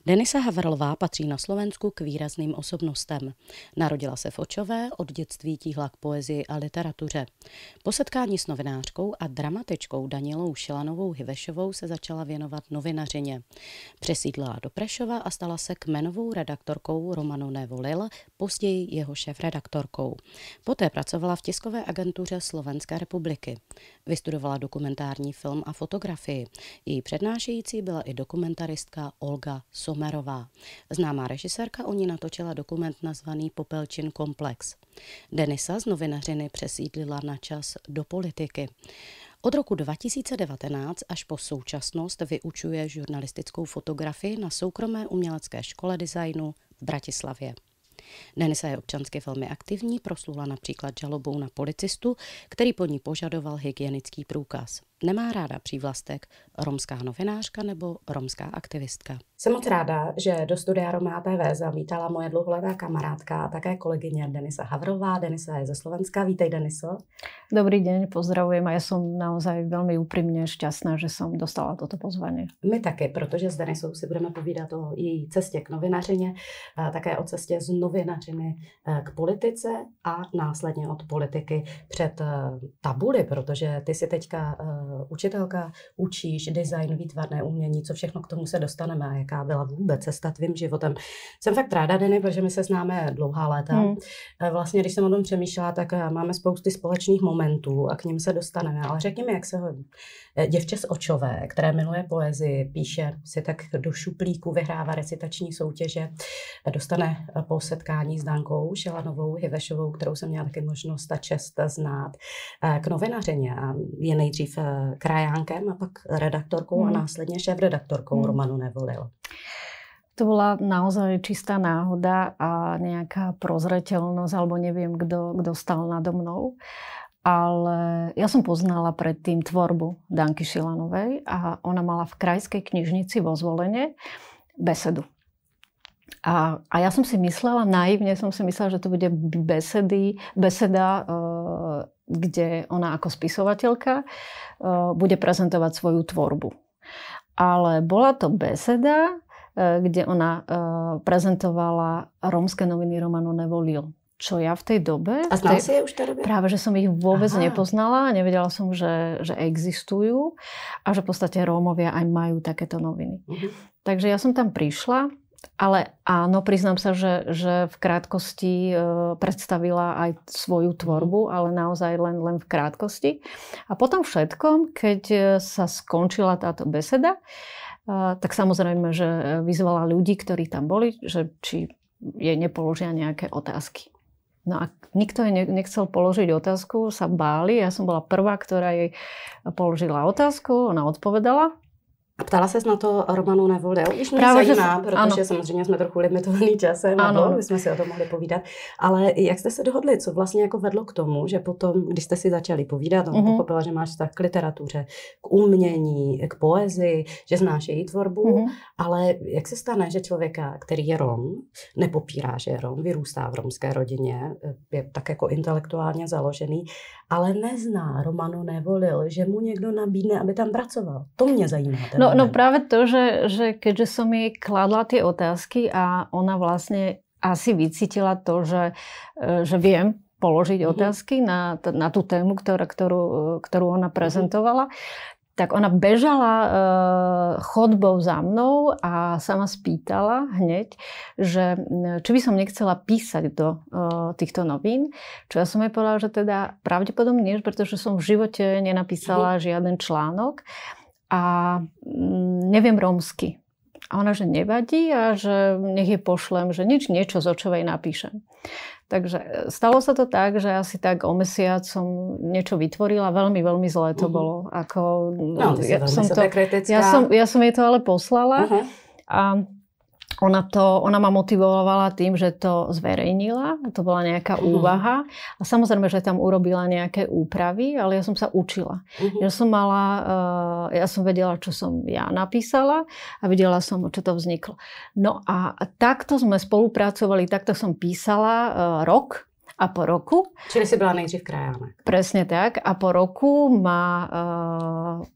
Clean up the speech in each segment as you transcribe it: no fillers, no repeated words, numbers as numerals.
Denisa Havrlová patří na Slovensku k výrazným osobnostem. Narodila se v Očové, od dětství tíhla k poezii a literatuře. Po setkání s novinářkou a dramatičkou Danielou Šilanovou Hivešovou se začala věnovat novinařině. Přesídlila do Prešova a stala se kmenovou redaktorkou Romanu Nevolil, později jeho šéfredaktorkou. Poté pracovala v tiskové agentuře Slovenské republiky. Vystudovala dokumentární film a fotografii. Její přednášející byla i dokumentaristka Olga Somerová. Známá režisérka o ní natočila dokument nazvaný Popelčin komplex. Denisa z novinařiny přesídlila na čas do politiky. Od roku 2019 až po současnost vyučuje žurnalistickou fotografii na soukromé umělecké škole designu v Bratislavě. Denisa je občansky velmi aktivní, proslula například žalobou na policistu, který po ní požadoval hygienický průkaz. Nemá ráda přívlastek romská novinářka nebo romská aktivistka. Jsem moc ráda, že do studia Roma TV zavítala moje dlouholetá kamarádka a také kolegyně Denisa Havrová. Denisa je ze Slovenska. Vítej, Deniso. Dobrý deň, pozdravujem a ja som naozaj veľmi úprimne šťastná, že som dostala toto pozvanie. My taky, protože s Denisou si budeme povídat o její cestě k novinařině, také o cestě z novinařiny k politice a následně od politiky před tabuly, protože ty si teďka učitelka, učíš design, výtvarné umění, co všechno k tomu se dostaneme a jaká byla vůbec cesta tvým životem. Jsem fakt ráda, Deny, protože my se známe dlouhá léta. Vlastně, když jsem o tom přemýšlela, tak máme spousty společných momentů a k nim se dostaneme. Ale řekni mi, jak se hodí. Děvče z Očové, které miluje poezii, píše si tak do šuplíku, vyhrává recitační soutěže, dostane po setkání s Dankou Šilanovou Hivešovou, kterou jsem měla taky možnost a čest znát, k novinařině a je nejdřív krajánkem a pak redaktorkou a následně šéfredaktorkou Romanu Nevolil. To bola naozaj čistá náhoda a nejaká prozreteľnosť, alebo neviem, kto stal nado mnou. Ale ja som poznala predtým tvorbu Danky Šilanovej a ona mala v Krajskej knižnici vo Zvolene besedu. A ja som si myslela, naivne som si myslela, že to bude beseda, kde ona ako spisovateľka bude prezentovať svoju tvorbu. Ale bola to beseda, kde ona prezentovala rómske noviny Romanu Nevolil. Čo ja v tej dobe... A znala si je už v tej dobe? Práve, že som ich vôbec nepoznala. Nevedela som, že existujú a že v podstate Rómovia aj majú takéto noviny. Takže ja som tam prišla, ale áno, priznám sa, že v krátkosti predstavila aj svoju tvorbu, ale naozaj len v krátkosti. A potom všetkom, keď sa skončila táto beseda, tak samozrejme, že vyzvala ľudí, ktorí tam boli, že či jej nepoložia nejaké otázky. No a nikto jej nechcel položiť otázku, sa báli. Ja som bola prvá, ktorá jej položila otázku, ona odpovedala. A ptala ses na to Romanu Nevolil? Když mě zajímá, protože samozřejmě jsme trochu limitovaný časem, my jsme si o tom mohli povídat. Ale jak jste se dohodli? Co vlastně jako vedlo k tomu, že potom, když jste si začali povídat, on pochopila, že máš vztah k literatuře, k umění, k poezii, že znáš její tvorbu, ale jak se stane, že člověka, který je Rom, nepopírá, že je Rom, vyrůstá v romské rodině, je tak jako intelektuálně založený, ale nezná Romanu Nevolil, že mu někdo nabídne, aby tam pracoval. To mě zajímá. No práve to, že keďže som jej kladla tie otázky a ona vlastne asi vycítila to, že viem položiť otázky na tú tému, ktorú ona prezentovala, tak ona bežala chodbou za mnou a sa ma spýtala hneď, že či by som nechcela písať do týchto novín. Čo ja som jej povedala, že teda pravdepodobne nie, pretože som v živote nenapísala žiaden článok a neviem rómsky. A ona, že nevadí a že nech je pošlem, že niečo z Očovej napíšem. Takže stalo sa to tak, že asi tak o mesiac som niečo vytvorila. Veľmi, veľmi zlé to bolo. Ja som jej to ale poslala. A ona ma motivovala tým, že to zverejnila. To bola nejaká úvaha. A samozrejme, že tam urobila nejaké úpravy, ale ja som sa učila. Ja som vedela, čo som ja napísala a vedela som, čo to vzniklo. No a takto sme spolupracovali, takto som písala rok. A po roku... Čili si byla nejdřív krajánek. Presne tak. A po roku ma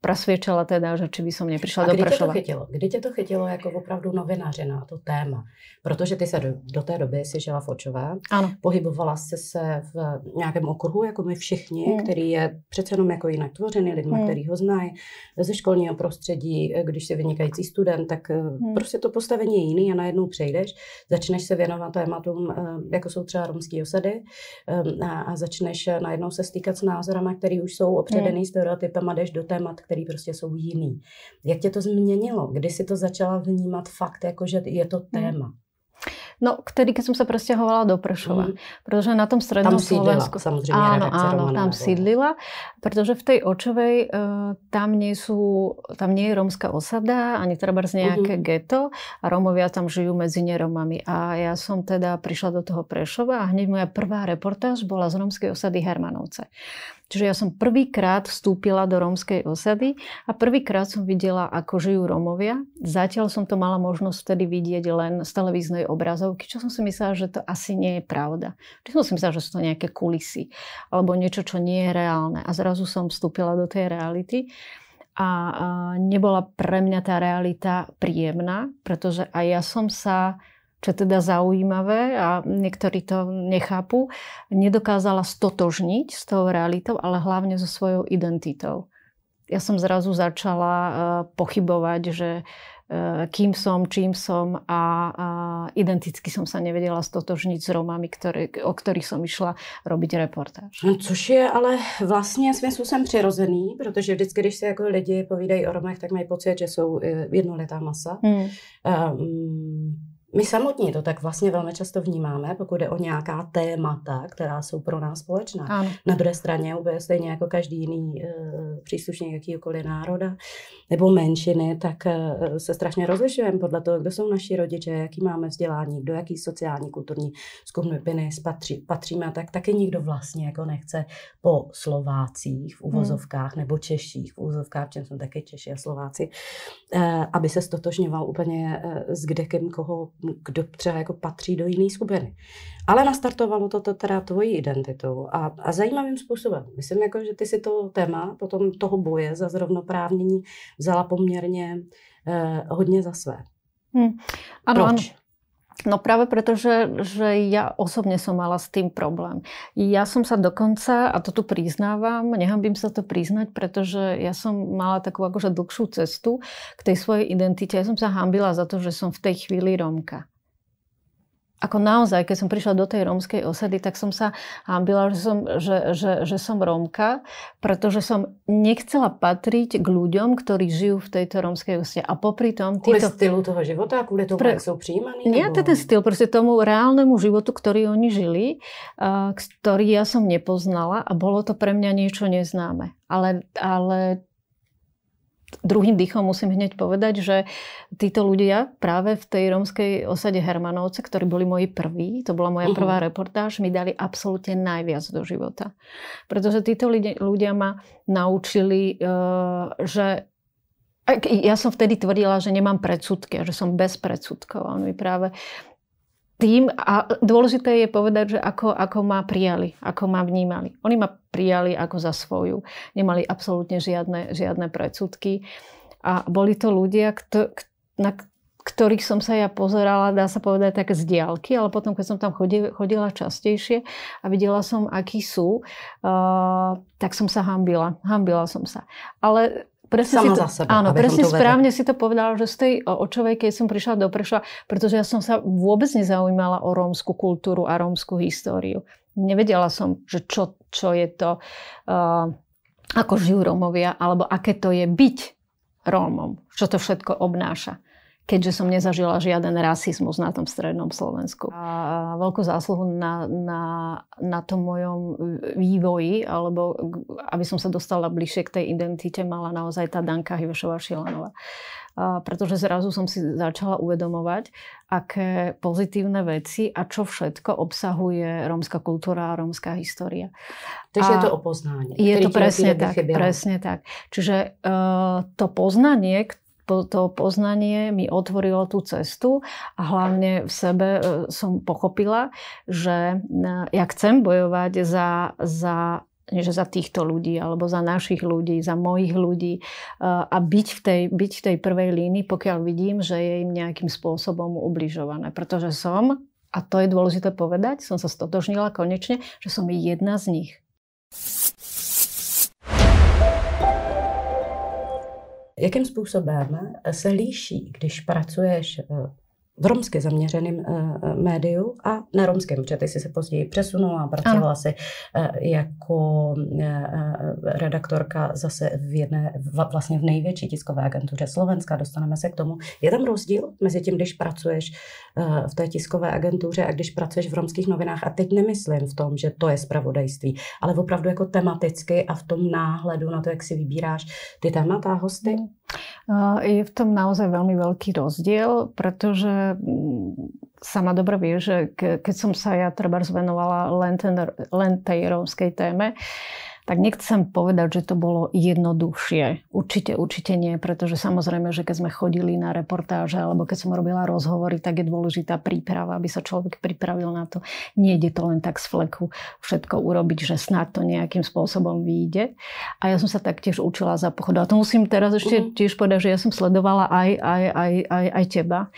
presviečala teda, že či by som neprišla do Prešova. Kdy tě to chytilo jako opravdu novinařina, to téma? Protože ty se do té doby si žila v Očové, ano. Pohybovala jsi se v nějakém okruhu, jako my všichni, který je přece jenom jako jinak tvořený lidma, který ho znají ze školního prostředí. Když jsi vynikající student, tak prostě to postavení je jiný a najednou přejdeš, začneš se věnovat tématům, jako jsou třeba romské osady a začneš najednou se stýkat s názorama, které už jsou opředený stereotypem a jdeš do témat, které prostě jsou jiný. Jak tě to změnilo? Kdy si to začala vnímat fakt, jako že je to téma? No, vtedy, keď som sa presťahovala do Prešova. Pretože na tom strednom Slovensku... Samozrejme, áno, tam sídlila. Pretože v tej Očovej tam nie je rómska osada, ani trebárs nejaké geto a Rómovia tam žijú medzi neromami. A ja som teda prišla do toho Prešova a hneď moja prvá reportáž bola z rómskej osady Hermanovce. Čiže ja som prvýkrát vstúpila do rómskej osady a prvýkrát som videla, ako žijú Rómovia. Zatiaľ som to mala možnosť vtedy vidieť len z televíznej obrazovky, čo som si myslela, že to asi nie je pravda. Čiže som si myslela, že sú to nejaké kulisy alebo niečo, čo nie je reálne. A zrazu som vstúpila do tej reality a nebola pre mňa tá realita príjemná, pretože aj ja som sa, čo je teda zaujímavé a niektorí to nechápu, nedokázala stotožniť s tou realitou, ale hlavne so svojou identitou. Ja som zrazu začala pochybovať, že kým som, čím som a identicky som sa nevedela stotožniť s Romami, o ktorých som išla robiť reportáž. Což je ale vlastně svým způsobem přirozený, protože vždycky, když se jako lidi povídají o Romech, tak mají pocit, že jsou jednolitá masa. My samotní to tak vlastně velmi často vnímáme, pokud jde o nějaká témata, která jsou pro nás společná. Ano. Na druhé straně úplně stejně jako každý jiný příslušník jakýkoliv národa nebo menšiny, tak se strašně rozlišujeme podle toho, kdo jsou naši rodiče, jaký máme vzdělání, do jaký sociální, kulturní skupiny patříme, tak taky nikdo vlastně jako nechce po Slovácích v uvozovkách nebo Češích v uvozovkách, čem jsou taky Češi a Slováci, aby se stotožňoval úplně s kdekým, kdo třeba jako patří do jiné skupiny. Ale nastartovalo to teda tvoji identitu a zajímavým způsobem. Myslím, jako, že ty si to téma potom toho boje za zrovnoprávnění vzala poměrně hodně za své. Ano, Proč? Ano. No práve preto, že ja osobne som mala s tým problém. Ja som sa dokonca, a to tu priznávam, nehanbím sa to priznať, pretože ja som mala takú akože dlhšiu cestu k tej svojej identite. Ja som sa hanbila za to, že som v tej chvíli Rómka. Ako naozaj, keď som prišla do tej rómskej osady, tak som sa hanbila, že som Rómka, pretože som nechcela patriť k ľuďom, ktorí žijú v tejto rómskej osade. A popri tom... Kvôli stylu toho života? Kvôli tomu, jak sú přijímaní? Nie, to je ten styl, proste tomu reálnemu životu, ktorý oni žili, ktorý ja som nepoznala a bolo to pre mňa niečo neznáme. Ale druhým dýchom musím hneď povedať, že títo ľudia práve v tej rómskej osade Hermanovce, ktorí boli moji prví, to bola moja prvá reportáž, mi dali absolútne najviac do života. Pretože títo ľudia ma naučili, že ja som vtedy tvrdila, že nemám predsudky a že som bez predsudkov. Oni práve tým, a dôležité je povedať, že ako ma prijali, ako ma vnímali. Oni ma prijali ako za svoju. Nemali absolútne žiadne predsudky. A boli to ľudia, na ktorých som sa ja pozerala, dá sa povedať, tak z diaľky, ale potom, keď som tam chodila častejšie a videla som, akí sú, tak som sa hanbila. Hanbila som sa. Ale presne za sebe. Áno, presne správne si to povedala, že z tej Očovej, keď som prišla do Prešova, pretože ja som sa vôbec nezaujímala o rómsku kultúru a rómsku históriu. Nevedela som, že čo je to, ako žijú Rómovia, alebo aké to je byť Rómom, čo to všetko obnáša. Keďže som nezažila žiaden rasizmus na tom strednom Slovensku. A veľkú zásluhu na tom mojom vývoji, alebo aby som sa dostala bližšie k tej identite, mala naozaj tá Danka Hivešová-Šilanová. Pretože zrazu som si začala uvedomovať, aké pozitívne veci a čo všetko obsahuje rómska kultúra a rómska história. Takže je to o poznání. Je to presne tak. Čiže to poznanie mi otvorilo tú cestu a hlavne v sebe som pochopila, že ja chcem bojovať za že za týchto ľudí, alebo za našich ľudí, za mojich ľudí a byť v tej prvej línii, pokiaľ vidím, že je im nejakým spôsobom ubližované. Pretože som, a to je dôležité povedať, som sa stotožnila konečne, že som jedna z nich. Jakým způsobem se líší, když pracuješ v romsky zaměřeném médiu a neromském, protože ty jsi se později přesunula a pracovala si jako redaktorka zase vlastně v největší tiskové agentuře Slovenska, dostaneme se k tomu. Je tam rozdíl mezi tím, když pracuješ v té tiskové agentuře a když pracuješ v romských novinách, a teď nemyslím v tom, že to je zpravodajství, ale opravdu jako tematicky a v tom náhledu na to, jak si vybíráš ty témata a hosty? Je v tom naozaj veľmi veľký rozdiel, pretože sama dobre vie, že keď som sa ja trebárs venovala len tej rómskej téme, tak nechcem povedať, že to bolo jednoduchšie. Určite nie, pretože samozrejme, že keď sme chodili na reportáže alebo keď som robila rozhovory, tak je dôležitá príprava, aby sa človek pripravil na to. Nejde to len tak z fleku všetko urobiť, že snad to nejakým spôsobom vyjde. A ja som sa taktiež učila za pochodu. A to musím teraz ešte tiež povedať, že ja som sledovala aj teba,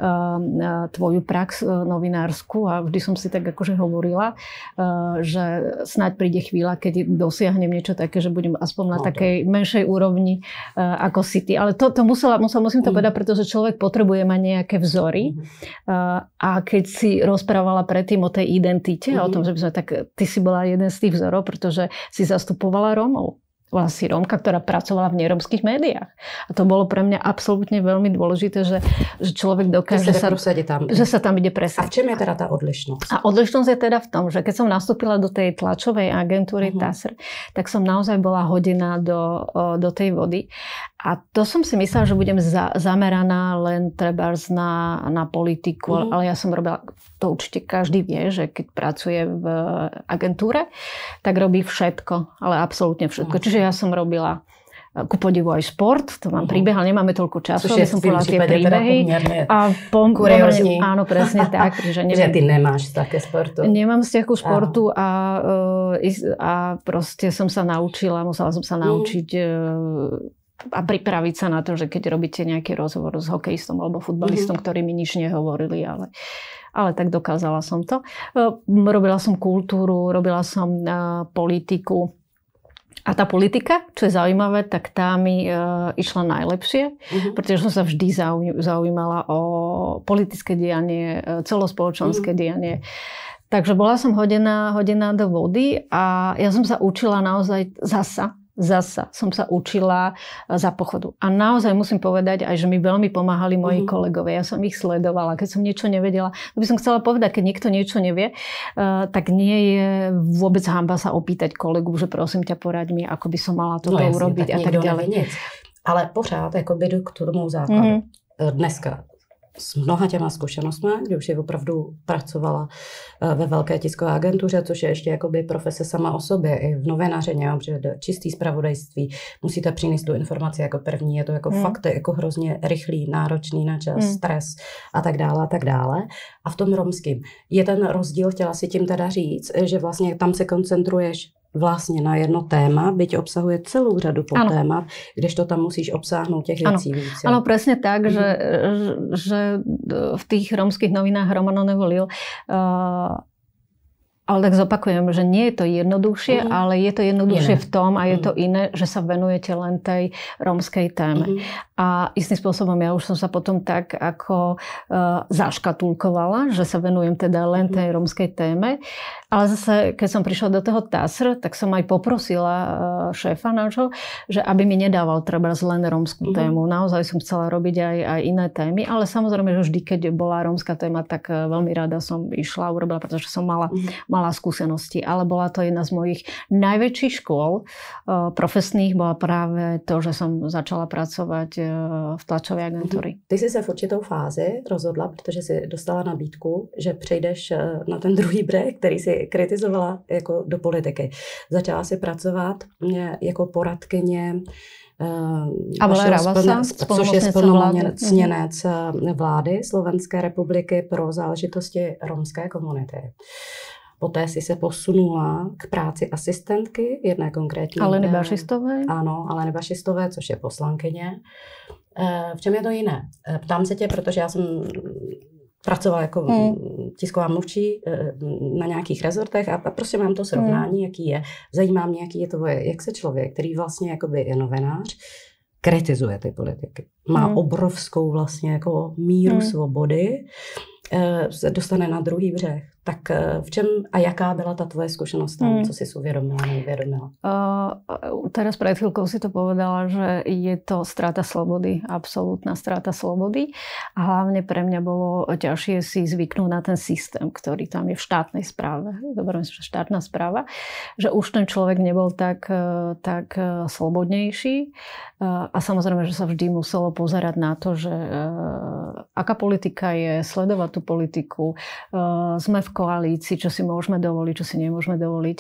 tvoju prax novinársku a vždy som si tak akože hovorila, že snáď príde chvíľa, keď dosiahnem niečo také, že budem aspoň na takej menšej úrovni ako si ty. Ale to musím to povedať, pretože človek potrebuje mať nejaké vzory. A keď si rozprávala predtým o tej identite a o tom, že by sme ty si bola jeden z tých vzorov, pretože si zastupovala Rómov. Bola si Rómka, ktorá pracovala v nerómskych médiách. A to bolo pre mňa absolútne veľmi dôležité, že človek dokáže že sa tam ide presadiť. A v čem je teda tá odlišnosť? A odlišnosť je teda v tom, že keď som nastúpila do tej tlačovej agentúry TASR, tak som naozaj bola hodená do tej vody. A to som si myslela, že budem zameraná len trebárs na politiku, ale ja som robila, to určite každý vie, že keď pracuje v agentúre, tak robí všetko, ale absolútne všetko. Čiže ja som robila ku podivu aj šport, to mám príbeh, ale nemáme toľko času, aby som povedala tie príbehy. A kuriózní. Áno, presne tak. Že ty nemáš také sportu. Nemám vzťah ku športu a proste som sa naučila, musela som sa naučiť a pripraviť sa na to, že keď robíte nejaký rozhovor s hokejistom alebo futbalistom, ktorí mi nič nehovorili, ale tak dokázala som to. Robila som kultúru, robila som politiku. A tá politika, čo je zaujímavé, tak tá mi išla najlepšie, pretože som sa vždy zaujímala o politické dianie, celospoločenské dianie. Takže bola som hodená do vody a ja som sa učila naozaj zasa som sa učila za pochodu. A naozaj musím povedať aj, že mi veľmi pomáhali moji kolegovia. Ja som ich sledovala. Keď som niečo nevedela, to by som chcela povedať, keď niekto niečo nevie, tak nie je vôbec hanba sa opýtať kolegu, že prosím ťa, poraď mi, ako by som mala toto urobiť a tak ďalej. Ale pořád jakoby jdu k tomu základu. Dneska s mnoha těma zkušenostmi, kdy už je opravdu pracovala ve velké tiskové agentuře, což je ještě jakoby profese sama o sobě, i v novinařině, protože čistý zpravodajství, musíte přinést tu informaci jako první, je to jako fakt jako hrozně rychlý, náročný na čas, stres a tak dále a tak dále. A v tom romským je ten rozdíl, chtěla si tím teda říct, že vlastně tam se koncentruješ vlastně na jedno téma, byť obsahuje celou řadu podtémat, kdežto tam musíš obsáhnout těch věcí víc. Áno, presne tak, že v tých rómskych novinách Romano nevolil. Ale tak zopakujem, že nie je to jednoduchšie, ale je to jednoduchšie v tom a je to iné, že sa venujete len tej rómskej téme. A istým spôsobom ja už som sa potom tak ako zaškatulkovala, že sa venujem teda len tej rómskej téme. Ale zase, keď som prišla do toho TASR, tak som aj poprosila šéfa nášho, že aby mi nedával trebárs len rómskú tému. Naozaj som chcela robiť aj iné témy, ale samozrejme, že vždy, keď bola rómska téma, tak veľmi rada som išla a urobila, pretože som mala skúsenosti. Ale bola to jedna z mojich najväčších škôl profesných, bola práve to, že som začala pracovať v tlačové agentúry. Ty si se v určitou fázi rozhodla, protože si dostala nabídku, že přejdeš na ten druhý breh, který si kritizovala jako do politiky. Začala si pracovat jako poradkyně což je splnomocněnec vlády Slovenské republiky pro záležitosti romské komunity. poté si se posunula k práci asistentky jedné konkrétní. Aleny Bašistové? Ano, Aleny Bašistové, což je poslankyně. V čem je to jiné? Ptám se tě, protože já jsem pracovala jako tisková mluvčí na nějakých rezortech a prostě mám to srovnání, jaký je. Zajímá mě, jaký je to, jak se člověk, který vlastně jakoby je novinář, kritizuje ty politiky. Má obrovskou vlastně jako míru svobody, se dostane na druhý břeh. Tak v čem a jaká byla ta tvoje skúsenosť tam? Co si uvedomila, neuvedomila? Teraz pred chvíľkou si to povedala, že je to strata slobody, absolútna strata slobody. A hlavne pre mňa bolo ťažšie si zvyknúť na ten systém, ktorý tam je v štátnej správe. Dobre, myslím, že štátna správa. Že už ten človek nebol tak slobodnejší. A samozrejme, že sa vždy muselo pozerať na to, že aká politika je, sledovať tú politiku. Sme v koalícii, čo si môžeme dovoliť, čo si nemôžeme dovoliť.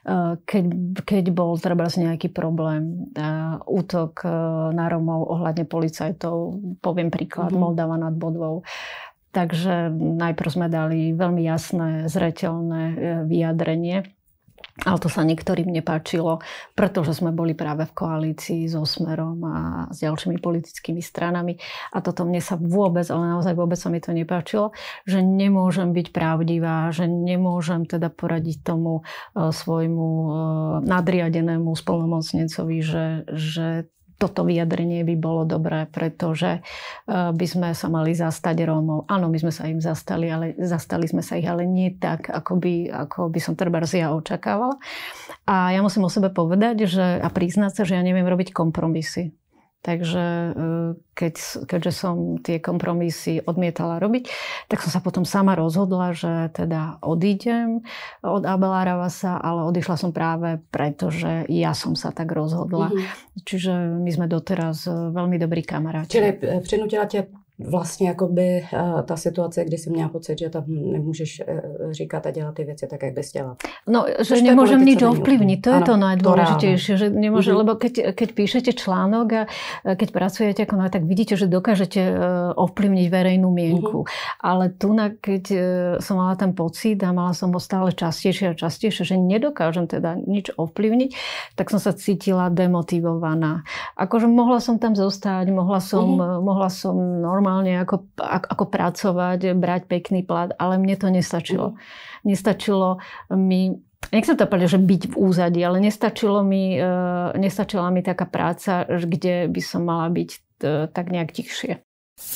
Keď bol treba nejaký problém, útok na Romov ohľadne policajtov, poviem príklad, Moldava nad Bodvou. Takže najprv sme dali veľmi jasné, zreteľné vyjadrenie. Ale to sa niektorým nepáčilo, pretože sme boli práve v koalícii so Smerom a s ďalšími politickými stranami. A toto mne sa vôbec, ale naozaj vôbec sa mi to nepáčilo, že nemôžem byť pravdivá, že nemôžem teda poradiť tomu svojmu nadriadenému splnomocnencovi, že toto vyjadrenie by bolo dobré, pretože by sme sa mali zastať Rómov. Áno, my sme sa im zastali, ale zastali sme sa ich, ale nie tak, ako by som trebárs ja očakávala. A ja musím o sebe povedať, a priznať sa, že ja neviem robiť kompromisy. Takže keďže som tie kompromisy odmietala robiť, tak som sa potom sama rozhodla, že teda odídem od Abela Ravasa, ale odišla som práve preto, že ja som sa tak rozhodla. Čiže my sme doteraz veľmi dobrí kamaráti. Čili prinutila tě vlastně jakoby ta situace, kdy jsi měla pocit, že tam nemůžeš říkat a dělat ty věci tak, jak bys chtěla. No, že nemôžem nič ovplyvniť. To je to najdôležitejšie. Že nemôže, lebo keď píšete článok a keď pracujete ako tak vidíte, že dokážete ovplyvniť verejnú mienku. Ale tu, keď som mala ten pocit a mala som ho stále častejšie a častejšie, že nedokážem teda nič ovplyvniť, tak som sa cítila demotivovaná. Akože mohla som tam zostať, mohla som normálne ako pracovať, brať pekný plat, ale mne to nestačilo. Nestačilo mi, nechcem to povedať, že byť v úzadí, ale nestačila mi taká práca, kde by som mala byť tak nejak tichšie.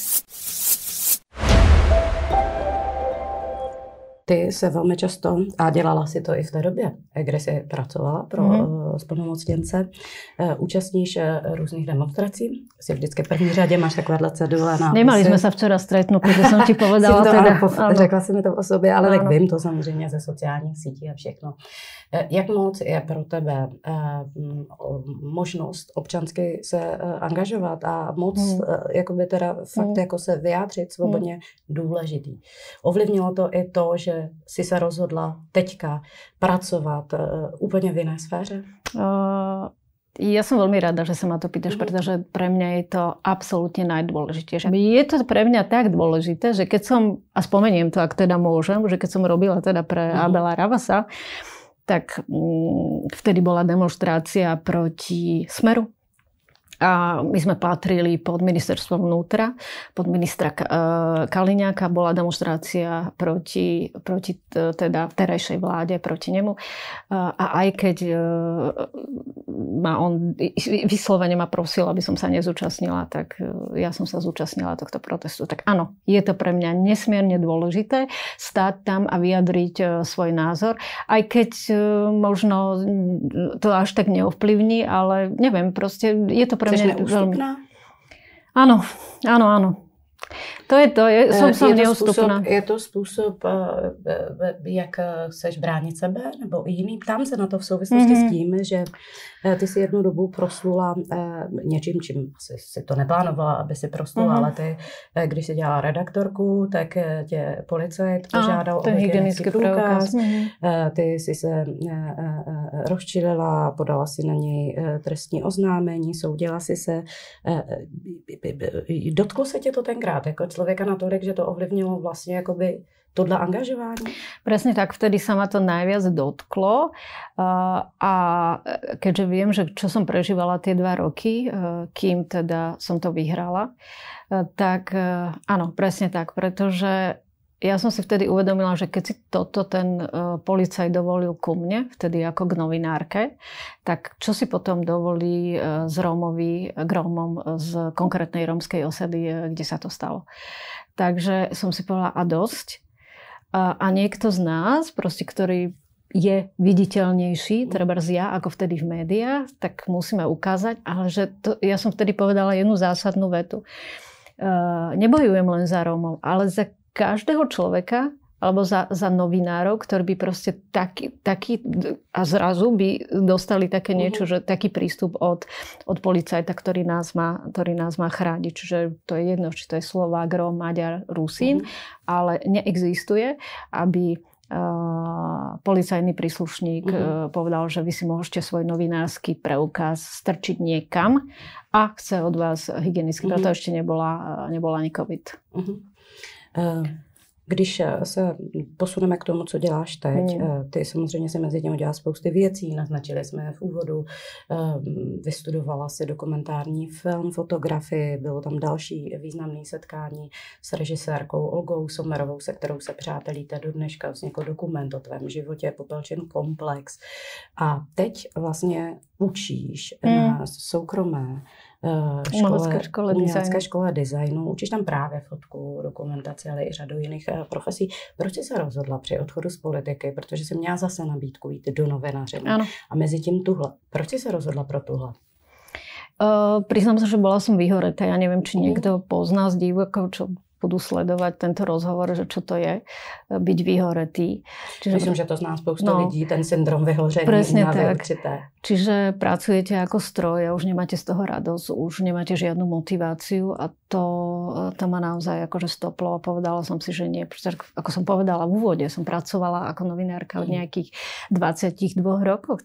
Ty se velmi často, a dělala si to i v té době, kde jsi pracovala pro splnomocněnce, účastníš různých demonstrací. Jsi vždycky v první řadě, máš takovéhle cedule nápisy. Nemali jsme se včera stretnúť, protože jsem ti povedala. Řekla si mi to o sobě, ale tak vím to samozřejmě ze sociálních sítí a všechno. Jak moc je pro tebe možnost občansky se angažovat a moc jakoby teda fakt jako se vyjádřit svobodně důležitý? Ovlivnilo to i to, že jsi se rozhodla teďka pracovat úplně v jiné sféře? Ja som veľmi rada, že sa ma to pýtaš, pretože pre mňa je to absolútne najdôležitejšie. Je to pre mňa tak dôležité, že keď som, a spomeniem to, ak teda môžem, že keď som robila teda pre Abela Ravasa, tak vtedy bola demonštrácia proti Smeru. A my sme patrili pod ministerstvo vnútra, pod ministra Kaliňáka, bola demonštrácia proti teda terajšej vláde, proti nemu. A aj keď on vyslovene ma prosil, aby som sa nezúčastnila, tak ja som sa zúčastnila tohto protestu. Tak áno, je to pre mňa nesmierne dôležité stáť tam a vyjadriť svoj názor, aj keď možno to až tak neovplyvní, ale neviem, proste je to pre mňa veľmi... Áno. To je to, som neústupná. Je to způsob, jak chceš bránit sebe, nebo jiný? Ptám se na to v souvislosti s tím, že ty si jednu dobu proslula něčím, čím asi si to neplánovala, aby si proslula, ale ty, když si dělala redaktorku, tak tě policajt požádal o hygienický průkaz. Ty si se rozčilila, podala si na něj trestní oznámení, soudila si se. Dotklo se tě to tenkrát? tenkrát jako člověka natolik, že to ovlivnilo vlastně jakoby tohle angažování? Presne tak, vtedy sa ma to najviac dotklo a keďže viem, že čo som prežívala tie 2 roky, kým teda som to vyhrala, tak áno, presne tak, pretože ja som si vtedy uvedomila, že keď si toto ten policajt dovolil ku mne, vtedy ako k novinárke, tak čo si potom dovolí k Rómom z konkrétnej rómskej osady, kde sa to stalo. Takže som si povedala, a dosť. A niekto z nás, proste, ktorý je viditeľnejší, trebárs ja, ako vtedy v médiách, tak musíme ukázať, ale že to, ja som vtedy povedala jednu zásadnú vetu. Nebojujem len za Rómov, ale za každého človeka, alebo za novinárov, ktorí by proste taký a zrazu by dostali také niečo, že taký prístup od policajta, ktorý nás má chrániť. Čiže to je jedno, či to je Slovák, Róm, Maďar, Rusín, ale neexistuje, aby policajný príslušník povedal, že vy si môžete svoj novinársky preukaz strčiť niekam a chce od vás hygienicky. Preto ešte nebola ani COVID. Když se posuneme k tomu, co děláš teď, ty samozřejmě si mezi tím udělala spousty věcí, naznačili jsme v úvodu, vystudovala si dokumentární film, fotografii, bylo tam další významné setkání s režisérkou Olgou Sommerovou, se kterou se přátelíte do dneška, vlastně jako dokument o tvém životě, Popelčin komplex. A teď vlastně učíš na soukromé umělecké škole designu. Učíš tam právě fotku, dokumentaci, ale i řadu jiných profesí. Proč jsi se rozhodla při odchodu z politiky? Protože jsi měla zase nabídku jít do novinařiny. A mezi tím tuhle. Proč jsi se rozhodla pro tuhle? Priznám sa, že bola som vyhoretá. Ja neviem, či niekto pozná z divákov, čo budú sledovať tento rozhovor, že čo to je byť vyhoretý. Myslím, že to zná spousta lidí, ten syndrom vyhoření. Presne tak. Určité. Čiže pracujete ako stroj a už nemáte z toho radosť, už nemáte žiadnu motiváciu a to ma naozaj akože stoplo a povedala som si, že nie. Pretože ako som povedala v úvode, som pracovala ako novinárka od nejakých 22 rokov,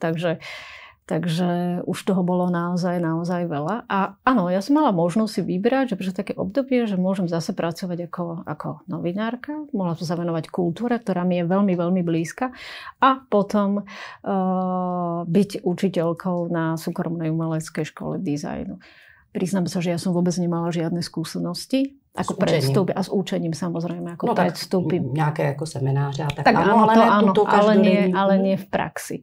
Takže už toho bolo naozaj veľa. A áno, ja som mala možnosť si vybrať, že pre také obdobie, že môžem zase pracovať ako novinárka. Mohla som sa venovať kultúre, ktorá mi je veľmi, veľmi blízka. A potom byť učiteľkou na súkromnej umeleckej škole dizajnu. Priznám sa, že ja som vôbec nemala žiadne skúsenosti. Ako predstúpi, a s učením samozrejme, ako predstúpim. Nejaké ako semináře. Tak áno, ale nie v praxi.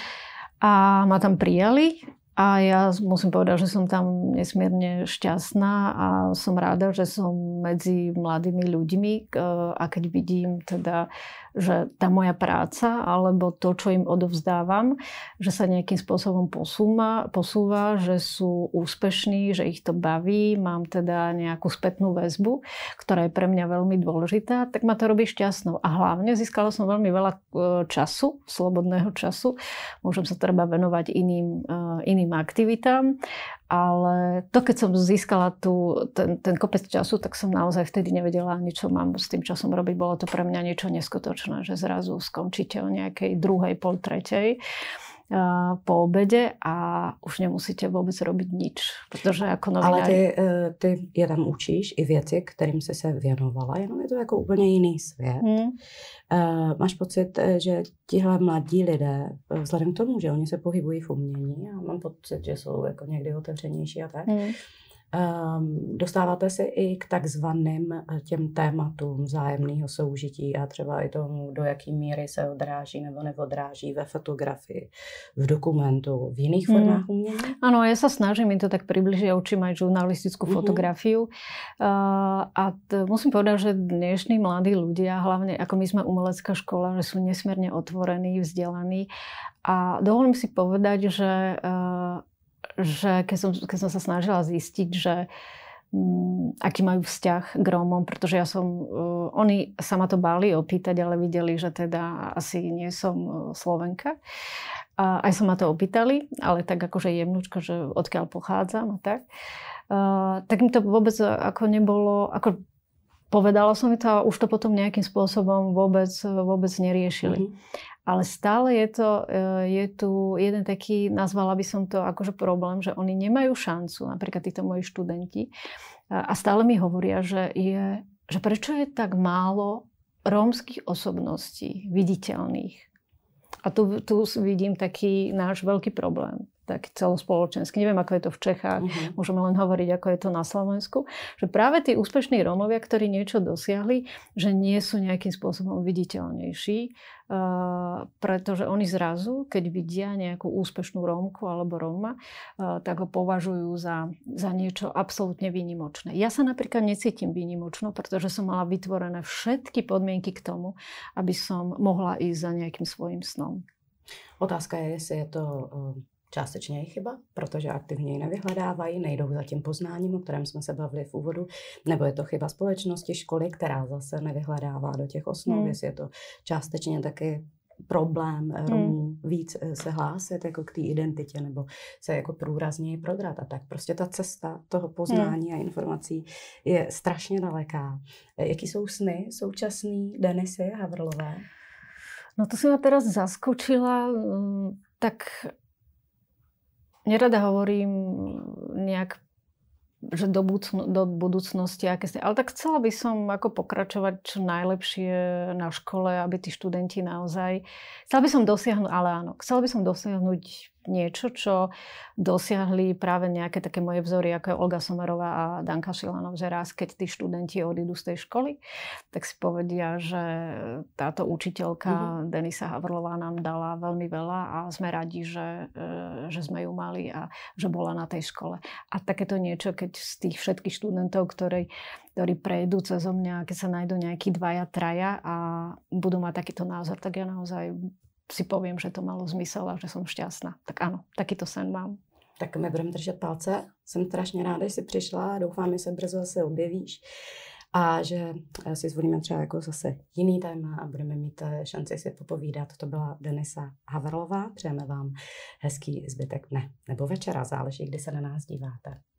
A ma tam prijali a ja musím povedať, že som tam nesmierne šťastná a som ráda, že som medzi mladými ľuďmi a keď vidím teda, že tá moja práca alebo to, čo im odovzdávam, že sa nejakým spôsobom posúva, že sú úspešní, že ich to baví, mám teda nejakú spätnú väzbu, ktorá je pre mňa veľmi dôležitá, tak ma to robí šťastnou. A hlavne získala som veľmi veľa času, slobodného času. Môžem sa treba venovať iným aktivitám, ale to, keď som získala ten kopec času, tak som naozaj vtedy nevedela ani, čo mám s tým časom robiť. Bolo to pre mňa niečo neskutočné, že zrazu skončíte o nejakej 2:00, 2:30 po obede a už nemusíte vôbec robiť nič, protože jako novinár... Ale ty je tam učíš i věci, kterým jsi se věnovala, jenom je to jako úplně jiný svět. Máš pocit, že tihle mladí lidé, vzhledem k tomu, že oni se pohybují v umění, a mám pocit, že jsou jako někdy otevřenější a tak, dostáváte se i k takzvaným těm tématům vzájemného soužití a třeba i tomu, do jaký míry se odráží nebo neodráží ve fotografii, v dokumentu, v jiných formách umění? Áno, ja sa snažím im to tak približiť, ja učím aj žurnalistickú fotografiu a musím povedať, že dnešní mladí ľudia, hlavne ako my sme umelecká škola, že sú nesmierne otvorení, vzdelaní a dovolím si povedať, že keď som sa snažila zistiť, že aký majú vzťah k Rómom, pretože oni sa ma to báli opýtať, ale videli, že teda asi nie som Slovenka. A aj sa ma to opýtali, ale tak akože jemnúčko, že odkiaľ pochádzam a tak. Tak mi to vôbec ako nebolo, ako povedala som mi to a už to potom nejakým spôsobom vôbec neriešili. Ale stále je tu jeden taký, nazvala by som to akože problém, že oni nemajú šancu, napríklad títo moji študenti, a stále mi hovoria, že prečo je tak málo rómskych osobností viditeľných. A tu vidím taký náš veľký problém, tak celospoločenský. Neviem, ako je to v Čechách, môžeme len hovoriť, ako je to na Slovensku. Že práve tí úspešní Rómovia, ktorí niečo dosiahli, že nie sú nejakým spôsobom viditeľnejší, pretože oni zrazu, keď vidia nejakú úspešnú Rómku alebo Róma, tak ho považujú za niečo absolútne výnimočné. Ja sa napríklad necítim výnimočno, pretože som mala vytvorené všetky podmienky k tomu, aby som mohla ísť za nejakým svojím snom. Otázka je, jestli je to částečně je chyba, protože aktivně ji nevyhledávají, nejdou za tím poznáním, o kterém jsme se bavili v úvodu, nebo je to chyba společnosti, školy, která zase nevyhledává do těch osnov, jestli je to částečně taky problém Romů víc se hlásit jako k té identitě nebo se jako průrazněji prodrat a tak. Prostě ta cesta toho poznání a informací je strašně daleká. Jaký jsou sny současný Denisy Havrlové? No to si ma teraz zaskočila, tak nerada hovorím nejak, že do budúcnosti, ale tak chcela by som ako pokračovať čo najlepšie na škole, aby tí študenti naozaj... Chcela by som dosiahnuť niečo, čo dosiahli práve nejaké také moje vzory, ako je Olga Somerová a Danka Šilanov, že raz, keď tí študenti odídu z tej školy, tak si povedia, že táto učiteľka Denisa Havrlová nám dala veľmi veľa a sme radi, že sme ju mali a že bola na tej škole. A takéto niečo, keď z tých všetkých študentov, ktorí prejdú cezo mňa, keď sa nájdú nejakí 2, 3 a budú mať takýto názor, tak ja naozaj si poviem, že to malo zmysel a že som šťastná. Tak áno, takýto sen mám. Tak my budeme držet palce. Jsem strašně ráda, že jsi přišla. Doufám, že se brzo zase objevíš. A že si zvolíme třeba jako zase jiný téma a budeme mít šanci si popovídat. To byla Denisa Havrlová. Přejeme vám hezký zbytek dne nebo večera. Záleží, kdy se na nás díváte.